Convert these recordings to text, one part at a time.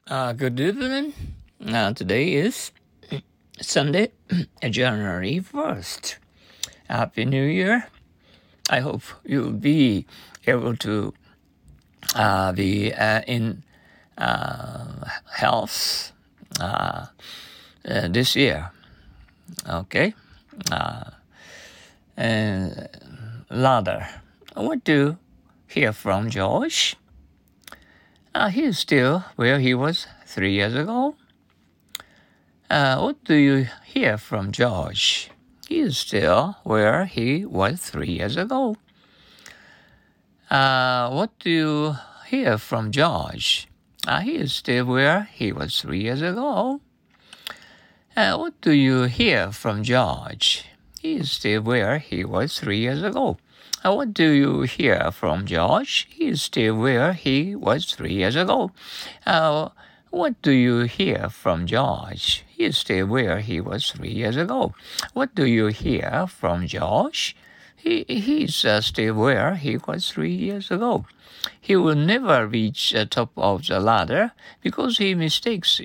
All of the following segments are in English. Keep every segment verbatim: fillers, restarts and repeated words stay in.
Uh, good evening. Uh, today is Sunday, January first. Happy New Year. I hope you'll be able to uh, be uh, in uh, health uh, uh, this year. Okay. Uh, and Ladder. What do you hear from George? Uh, he's still where he was three years ago. Uh, what do you hear from George? He is still where he was three years ago. Uh, what do you hear from George? Uh, he is still where he was three years ago. Uh, what do you hear from George? He is still where he was three years ago. Uh, what do you hear from George? He is still where he was three years ago. Uh, What do you hear from George? He is still where he was three years ago. What do you hear from George? He, he's uh, still where he was three years ago. He will never reach the top of the ladder because he mistakes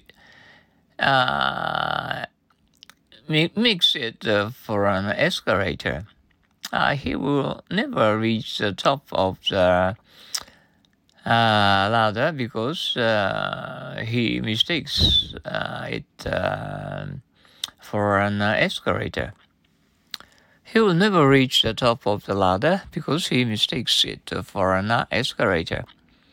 uh, makes it uh, for an escalator. Uh, he will never reach the top of the Uh, ladder because uh, he mistakes uh, it uh, for an uh, escalator. He will never reach the top of the ladder because he mistakes it for an uh, escalator.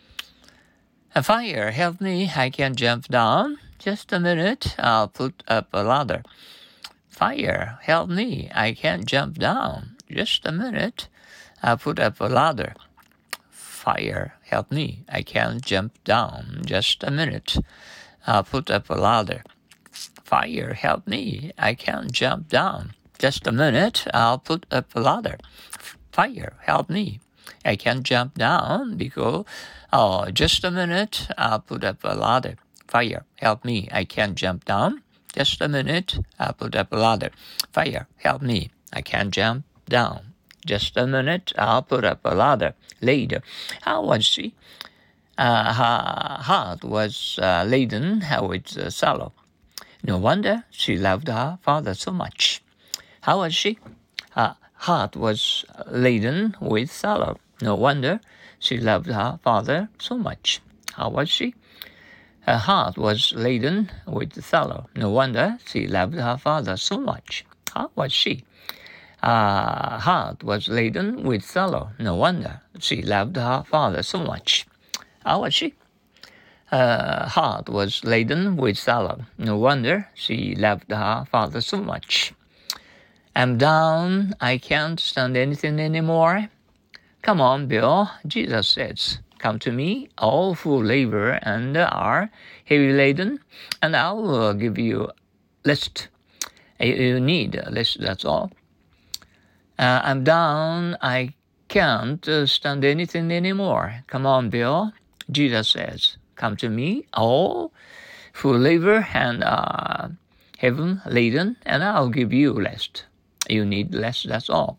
Fire, help me, I can't jump down. Just a minute, I'll put up a ladder. Fire, help me, I can't jump down. Just a minute, I'll put up a ladder. Fire, help me. I can't jump down. Just a minute. I'll put up a ladder. Fire, help me. I can't jump down. Just a minute. I'll put up a ladder. Fire, help me. I can't jump down because, oh, just a minute. I'll put up a ladder. Fire, help me. I can't jump down. Just a minute. I'll put up a ladder. Fire, help me. I can't jump down. Just a minute, I'll put up a ladder. Later, how was she? Uh, her heart was uh, laden with uh, sorrow. No wonder she loved her father so much. How was she? Her heart was laden with sorrow. No wonder she loved her father so much. How was she? Her heart was laden with sorrow. No wonder she loved her father so much. How was she? Her heart was laden with sorrow. No wonder she loved her father so much. How was she? Her heart was laden with sorrow. No wonder she loved her father so much. I'm down. I can't stand anything anymore. Come on, Bill. Jesus says, come to me, all who labor and are heavy laden, and I will give you rest. You need rest, that's all. Uh, I'm down. I can't uh, stand anything anymore. Come on, Bill. Jesus says, come to me, all who labor and are heavy laden, and I'll give you rest. You need rest, that's all.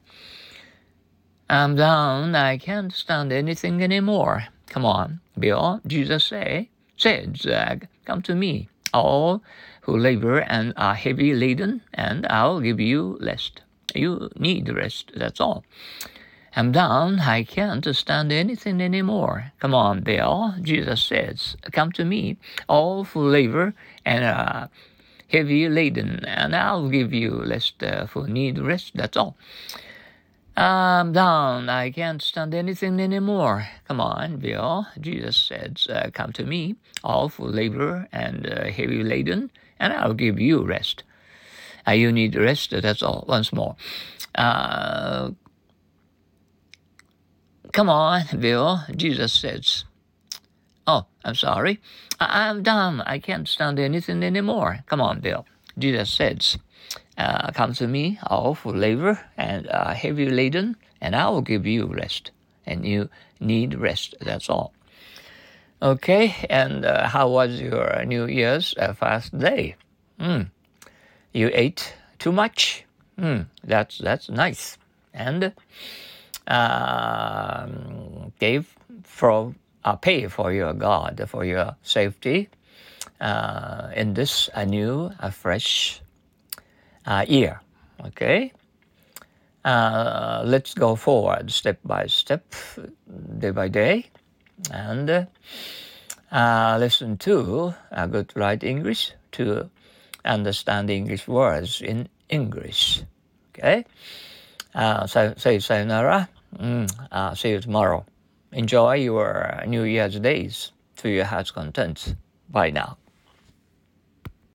I'm down. I can't stand anything anymore. Come on, Bill. Jesus say, said, uh, come to me, all who labor and are heavy laden, and I'll give you rest. You need rest, that's all. I'm down. I can't stand anything anymore. Come on, Bill. Jesus says, come to me, all who labor and are heavy laden, and I'll give you rest uh, who need rest, that's all. I'm down. I can't stand anything anymore. Come on, Bill. Jesus says, uh, come to me, all who labor and uh, heavy laden, and I'll give you rest. Uh, you need rest, that's all. Once more. Uh, come on, Bill. Jesus says, oh, I'm sorry. I- I'm done. I can't stand anything anymore. Come on, Bill. Jesus says, uh, come to me, all who labor and are heavy laden, and I will give you rest. And you need rest, that's all. Okay, and uh, how was your New Year's uh, fast day? Mm. You ate too much? Mm, that's that's nice. And uh, gave for uh, pay for your God, for your safety. uh, in this a new, a fresh uh, year. Okay, uh, let's go forward step by step, day by day, and uh, listen to a good write English to understand English words in English. Okay, uh, so say sayonara. Mm, uh, see you tomorrow. Enjoy your New Year's days to your heart's content. Bye now.